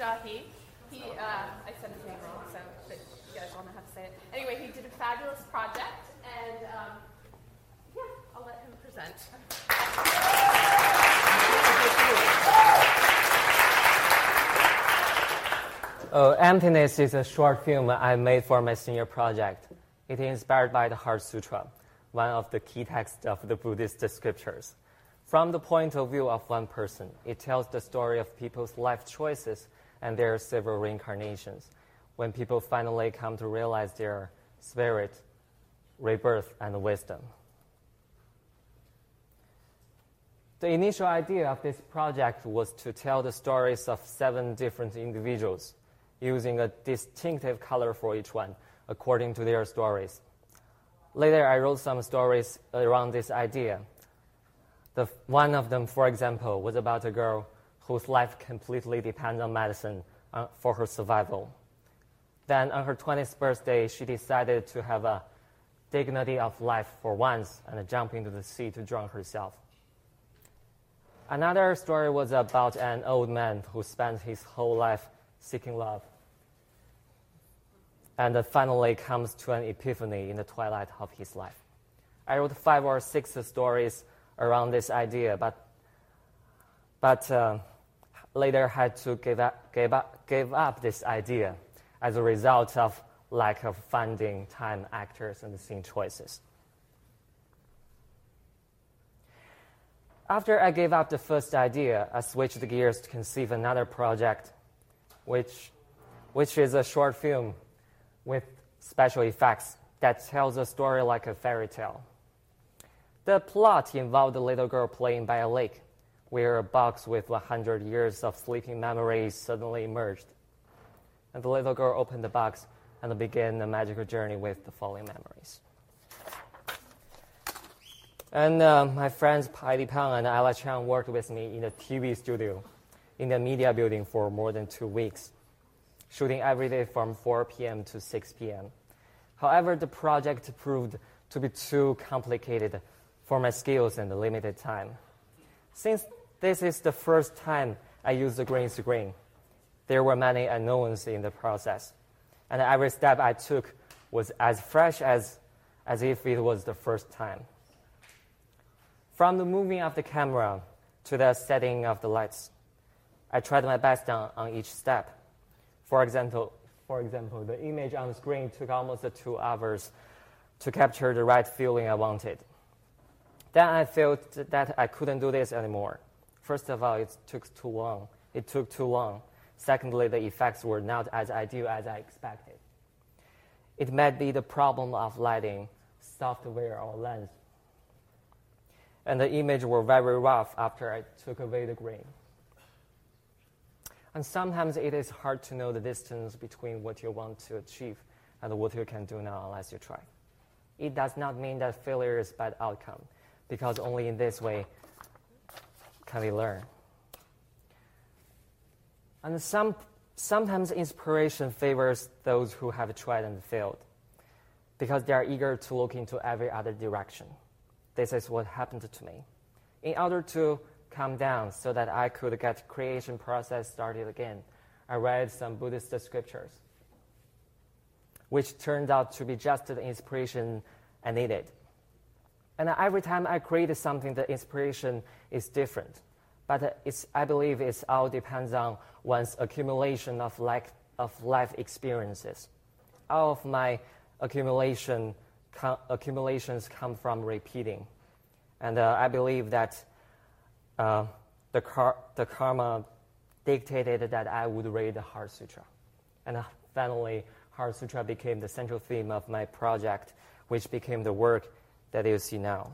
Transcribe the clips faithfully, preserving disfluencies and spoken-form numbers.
Jahi. He, uh, I said his name wrong, so but you guys all know how to say it. Anyway, he did a fabulous project, and um, yeah, I'll let him present. Oh, Emptiness is a short film I made for my senior project. It is inspired by the Heart Sutra, one of the key texts of the Buddhist scriptures. From the point of view of one person, it tells the story of people's life choices and their several reincarnations, when people finally come to realize their spirit, rebirth, and wisdom. The initial idea of this project was to tell the stories of seven different individuals, using a distinctive color for each one, according to their stories. Later, I wrote some stories around this idea. The, one of them, for example, was about a girl whose life completely depends on medicine uh, for her survival. Then, on her twentieth birthday, she decided to have a dignity of life for once and jump into the sea to drown herself. Another story was about an old man who spent his whole life seeking love, and finally comes to an epiphany in the twilight of his life. I wrote five or six stories around this idea, but but uh, later had to give up, give up, give up this idea as a result of lack of funding, time, actors, and scene choices. After I gave up the first idea, I switched gears to conceive another project, which, which is a short film with special effects that tells a story like a fairy tale. The plot involved a little girl playing by a lake, where a box with one hundred years of sleeping memories suddenly emerged. And the little girl opened the box and began a magical journey with the following memories. And uh, my friends Heidi Pang and Ella Chang worked with me in the T V studio in the media building for more than two weeks, shooting every day from four p.m. to six p.m. However, the project proved to be too complicated for my skills and the limited time. Since this is the first time I used the green screen, there were many unknowns in the process, and every step I took was as fresh as, as if it was the first time. From the moving of the camera to the setting of the lights, I tried my best on, on each step. For example, for example, the image on the screen took almost two hours to capture the right feeling I wanted. Then I felt that I couldn't do this anymore. First of all, it took too long. It took too long. Secondly, the effects were not as ideal as I expected. It might be the problem of lighting, software, or lens. And the images were very rough after I took away the green. And sometimes it is hard to know the distance between what you want to achieve and what you can do now unless you try. It does not mean that failure is a bad outcome, because only in this way can we learn. And some, sometimes inspiration favors those who have tried and failed, because they are eager to look into every other direction. This is what happened to me. In order to calm down so that I could get the creation process started again, I read some Buddhist scriptures, which turned out to be just the inspiration I needed. And every time I create something, the inspiration is different. But it's, I believe it all depends on one's accumulation of life, of life experiences. All of my accumulation com- accumulations come from repeating. And uh, I believe that uh, the, car- the karma dictated that I would read the Heart Sutra. And uh, finally, Heart Sutra became the central theme of my project, which became the work that you see now.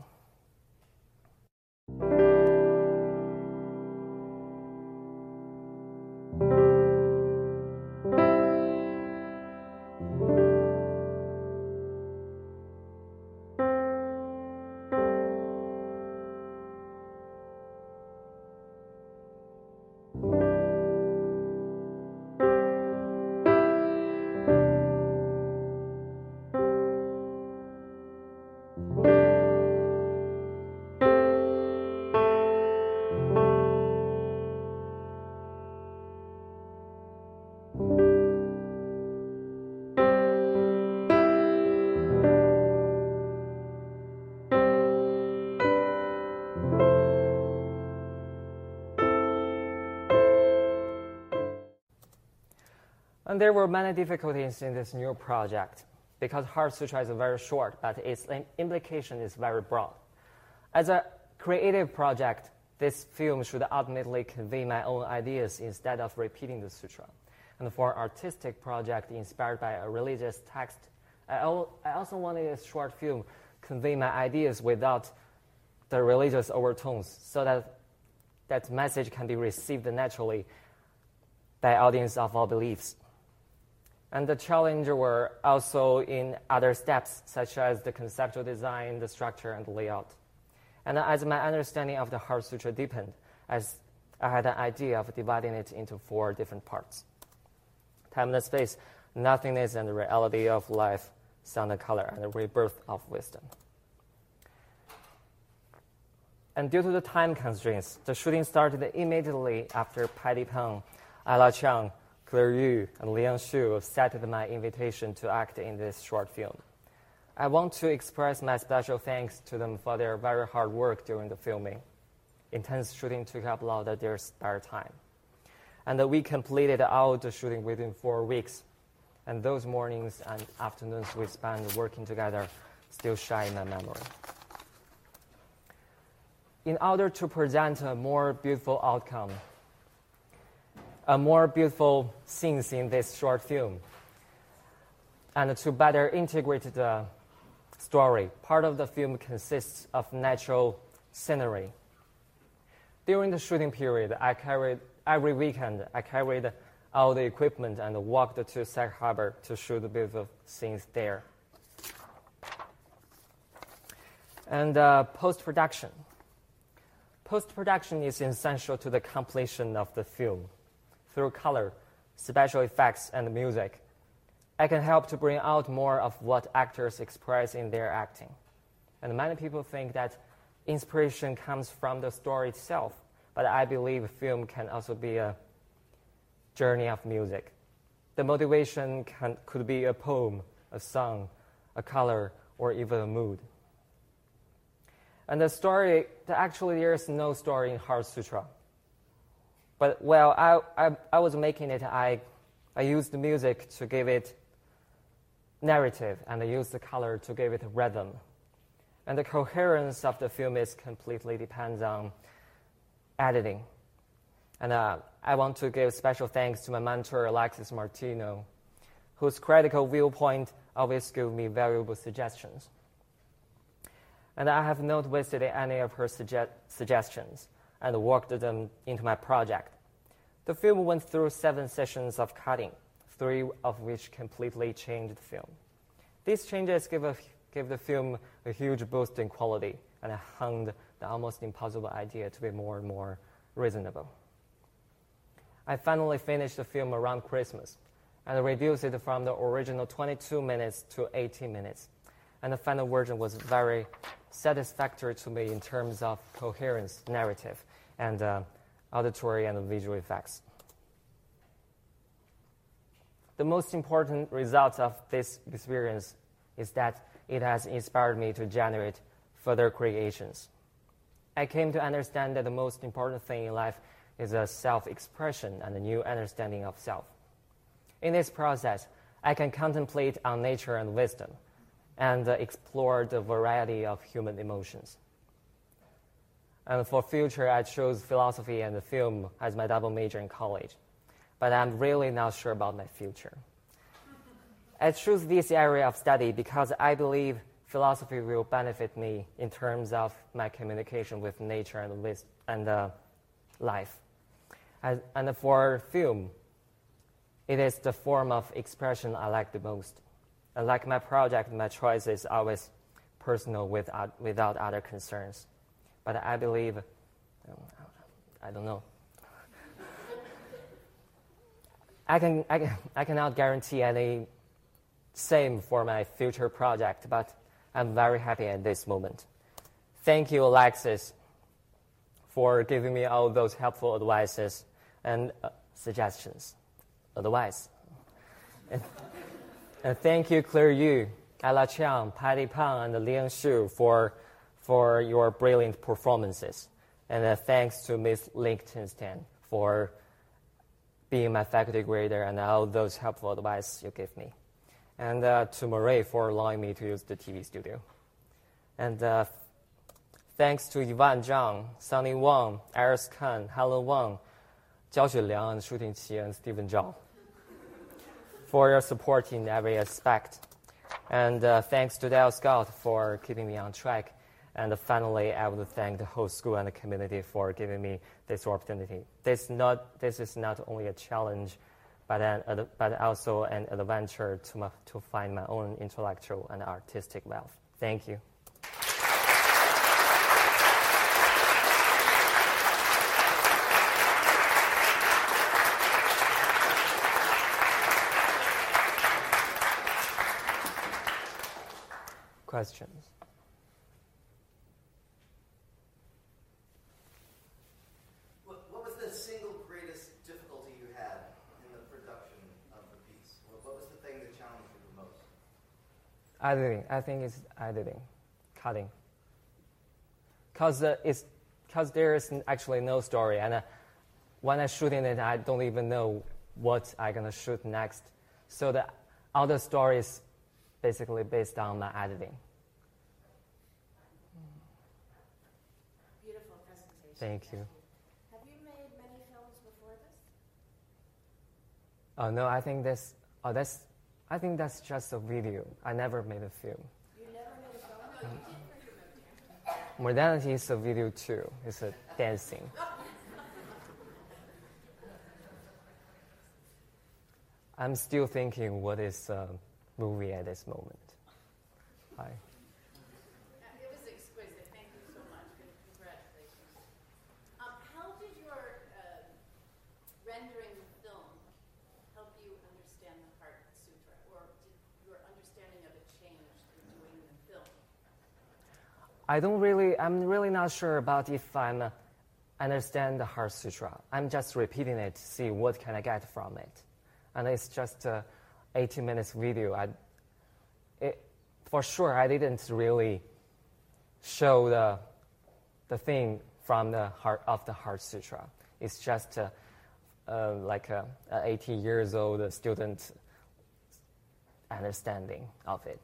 And there were many difficulties in this new project because Heart Sutra is very short, but its implication is very broad. As a creative project, this film should ultimately convey my own ideas instead of repeating the sutra. And for an artistic project inspired by a religious text, I also wanted this short film convey my ideas without the religious overtones so that that message can be received naturally by audience of all beliefs. And the challenges were also in other steps, such as the conceptual design, the structure, and the layout. And as my understanding of the Heart Sutra deepened, as I had an idea of dividing it into four different parts: time and space, nothingness and the reality of life, sound and color, and the rebirth of wisdom. And due to the time constraints, the shooting started immediately after Patty Peng, Ella Chiang, Claire Yu, and Liang Xu accepted my invitation to act in this short film. I want to express my special thanks to them for their very hard work during the filming. Intense shooting took up a lot of their spare time. And we completed all the shooting within four weeks. And those mornings and afternoons we spent working together still shine in my memory. In order to present a more beautiful outcome, a more beautiful scenes in this short film, and to better integrate the story, part of the film consists of natural scenery. During the shooting period, I carried every weekend. I carried all the equipment and walked to Sag Harbor to shoot the beautiful scenes there. And uh, post-production. Post-production is essential to the completion of the film. Through color, special effects, and music, I can help to bring out more of what actors express in their acting. And many people think that inspiration comes from the story itself, but I believe film can also be a journey of music. The motivation can, could be a poem, a song, a color, or even a mood. And the story, actually there is no story in Heart Sutra. But while I, I, I was making it, I, I used the music to give it narrative, and I used the color to give it rhythm. And the coherence of the film is completely depends on editing. And uh, I want to give special thanks to my mentor, Alexis Martino, whose critical viewpoint always gives me valuable suggestions. And I have not wasted any of her suge- suggestions and worked them into my project. The film went through seven sessions of cutting, three of which completely changed the film. These changes give, a, give the film a huge boost in quality, and I honed the almost impossible idea to be more and more reasonable. I finally finished the film around Christmas, and reduced it from the original twenty-two minutes to eighteen minutes. And the final version was very satisfactory to me in terms of coherence, narrative, and uh, auditory and visual effects. The most important result of this experience is that it has inspired me to generate further creations. I came to understand that the most important thing in life is a self-expression and a new understanding of self. In this process, I can contemplate on nature and wisdom, and uh, explore the variety of human emotions. And for future, I chose philosophy and film as my double major in college, but I'm really not sure about my future. I chose this area of study because I believe philosophy will benefit me in terms of my communication with nature and with and uh, life. As, and for film, it is the form of expression I like the most. And like my project, my choice is always personal without, without other concerns. But I believe, I don't know. I, can, I, can, I cannot guarantee any same for my future project, but I'm very happy at this moment. Thank you, Alexis, for giving me all those helpful advices and uh, suggestions. Advice. And, and thank you, Claire Yu, Ella Chiang, Patty Peng, and Liang Xu for, for your brilliant performances. And uh, thanks to Miss Lichtenstein for being my faculty grader and all those helpful advice you give me. And uh, to Murray for allowing me to use the T V studio. And uh, thanks to Yvonne Zhang, Sunny Wang, Iris Khan, Helen Wang, Jiao Xueliang, and Shu Tingqi, and Stephen Zhao for your support in every aspect. And uh, thanks to Dale Scott for keeping me on track. And finally, I would thank the whole school and the community for giving me this opportunity. This, not, this is not only a challenge, but, an, but also an adventure to, my, to find my own intellectual and artistic wealth. Thank you. Questions? What, what was the single greatest difficulty you had in the production of the piece? What, what was the thing that challenged you the most? Editing. I think it's editing, cutting. Because uh, it's because there is actually no story, and uh, when I'm shooting it, I don't even know what I'm gonna shoot next. So the all the story is basically based on my editing. Beautiful presentation. Thank you. Have you made many films before this? Oh no, I think this. Oh, that's. I think that's just a video. I never made a film. You never made a film? No, you did for your movie. Modernity is a video too. It's a dancing. I'm still thinking what is a movie at this moment. Hi. It was exquisite. Thank you so much. Congratulations. Um, how did your uh, rendering the film help you understand the Heart Sutra, or did your understanding of it change in doing the film? I don't really, I'm really not sure about if I'm uh, understand the Heart Sutra. I'm just repeating it to see what can I get from it. And it's just a eighteen minutes video. I, it, for sure, I didn't really show the, the thing from the heart of the Heart Sutra. It's just a, uh, like a, a eighty years old student understanding of it.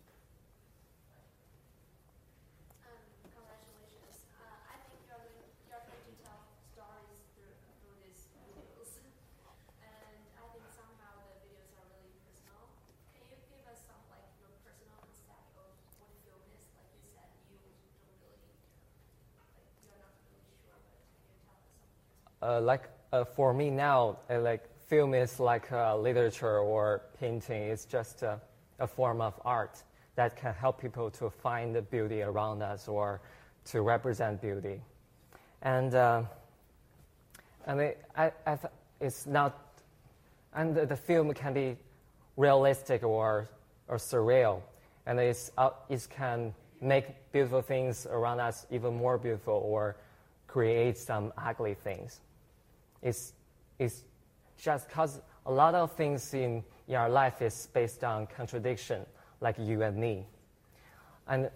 Um, congratulations. Uh, I think you're going, you're going to tell stories through, through these videos. And I think somehow the videos are really personal. Can you give us some, like, your personal concept of what film is? Like you said, you don't really, like, you're not really sure, but can you tell us something? Uh, like uh, for me now, uh, like film is like uh, literature or painting. It's just uh, a form of art that can help people to find the beauty around us or to represent beauty. And uh, I mean, I, I th- it's not, and the, the film can be realistic or or surreal, and it's uh, it can make beautiful things around us even more beautiful or create some ugly things. It's it's just because a lot of things in, in our life is based on contradiction, like you and me. And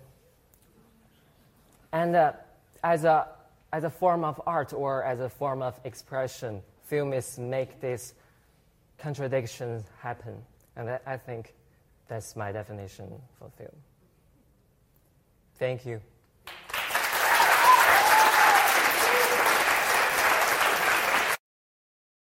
and uh, as a as a form of art or as a form of expression, film is make these contradictions happen. And I, I think that's my definition for film. Thank you.